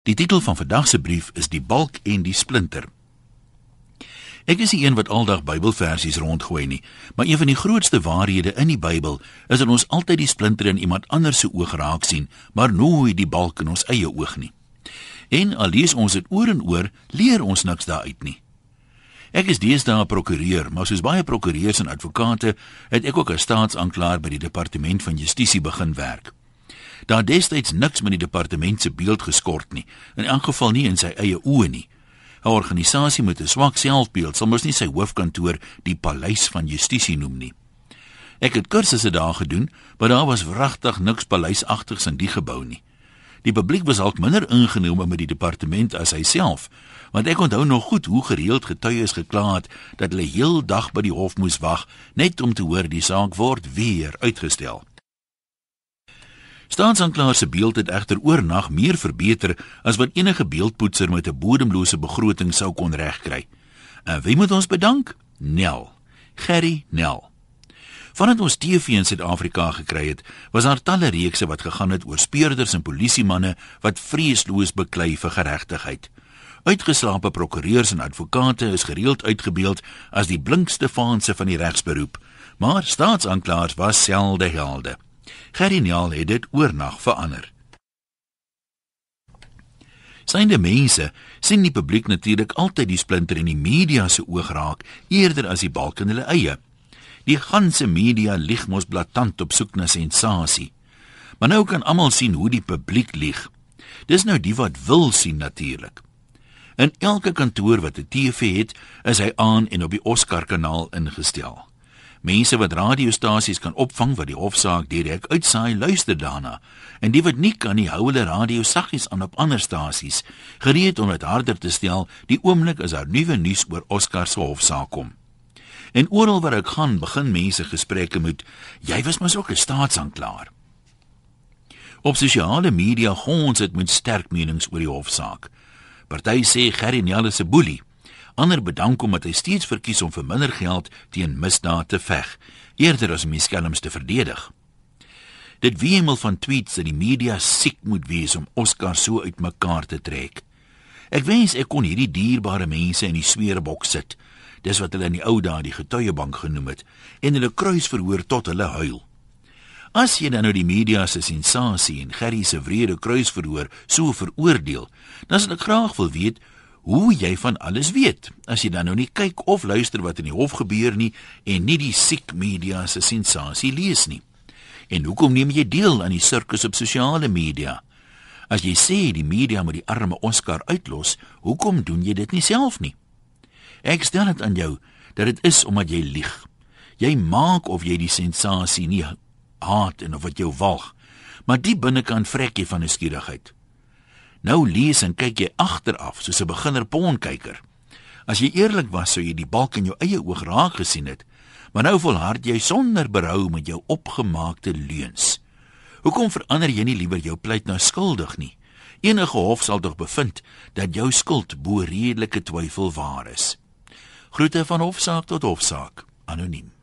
Die titel van vandag se brief is Die Balk en die Splinter. Ek is nie een wat aldag Bybelversies rondgooi nie, maar een van die grootste waarhede in die Bybel is dat ons altyd die splinter in iemand anders se oog raak sien, maar nooit die balk in ons eie oog nie. En al lees ons dit oor en oor, leer ons niks daaruit nie. Ek is deesdae 'n prokureur, maar soos baie prokureurs en advokate, het ek ook as staatsanklaer by die Departement van Justisie begin werk. Daar destyds niks met die departement se beeld geskort nie, in elk geval nie in sy eie oë nie. 'n Organisasie met 'n swak selfbeeld sal mos nie sy hoofkantoor die Paleis van Justisie noem nie. Ek het kursusse daar gedoen, maar daar was wragtig niks paleisagtigs in die gebou nie. Die publiek was al minder ingenome met die departement as hy self, want ek onthou nog goed hoe gereeld getuies gekla het dat hulle heel dag by die hof moes wag, net om te hoor die saak word weer uitgestel. Staatsanklaer se beeld het egter oornag meer verbeter as wat enige beeldpoetser met 'n bodemlose begroting sou kon regkry. En wie moet ons bedank? Nel. Gerry Nel. Vandat ons TV in Suid-Afrika gekry het, was daar talle reekse wat gegaan het oor speurders en polisiemanne wat vreesloos beklei vir geregtigheid. Uitgeslape prokureurs en advokate is gereeld uitgebeeld as die blinkste vaanse van die regsberoep, maar staatsanklaers was selde helde. Gerry Nel het dit oornag verander. Synde mense sien die publiek natuurlik altyd die splinter in die media se oog raak, eerder as die balk in hulle eie. Die ganse media lieg mos blaatant op soek na sensasie. Maar nou kan almal sien hoe die publiek lieg. Dis nou die wat wil sien natuurlik. In elke kantoor wat 'n TV het, is hy aan en op die Oscar-kanaal ingestel. Mense wat radiostasies kan opvang wat die hofsaak direk uitsaai, luister daarna. En die wat nie kan nie, hou hulle radio saggies aan op ander stasies, gereed om dit harder te stel die oomblik as daar nuwe nuus oor Oscar se hofsaak kom. En oral waar ek gaan, begin mense gesprekke met, jy was mos ook 'n staatsanklaer. Op sosiale media gons dit met sterk menings oor die hofsaak. Party sê Gerry Nel is 'n boelie. Ander bedank omdat hy steeds verkies om vir minder geld teen misdaad te veg, eerder as om die skelms te verdedig. Dit wemel van tweets dat die media siek moet wees om Oscar so uitmekaar te trek. Ek wens ek kon hierdie dierbare mense in die sweerbok sit, dis wat hulle in die ou dae die getuiebank genoem het, en hulle kruisverhoor tot hulle huil. As jy dan nou die media se sensasie en Gerry se wrede kruisverhoor so veroordeel, dan sal ek graag wil weet hoe jy van alles weet, as jy dan nou nie kyk of luister wat in die hof gebeur nie, en nie die siek media se sensasie lees nie. En hoekom neem jy deel aan die sirkus op sosiale media? As jy sê die media moet die arme Oscar uitlos, hoekom doen jy dit nie self nie? Ek stel dit aan jou, dat dit is omdat jy lieg. Jy maak of jy die sensasie nie haat en of wat jou walg, maar die binnekant vrek jy van nuuskierigheid. Nou lees en kyk jy agteraf, soos 'n beginner pornkyker. As jy eerlik was, sou jy die balk in jou eie oog raak gesien het, maar nou volhard jy sonder berou met jou opgemaakte leuns. Hoekom verander jy nie liewer jou pleit na skuldig nie? Enige hof sal tog bevind dat jou skuld bo redelike twyfel waar is. Groete van hofsaak tot hofsaak, anoniem.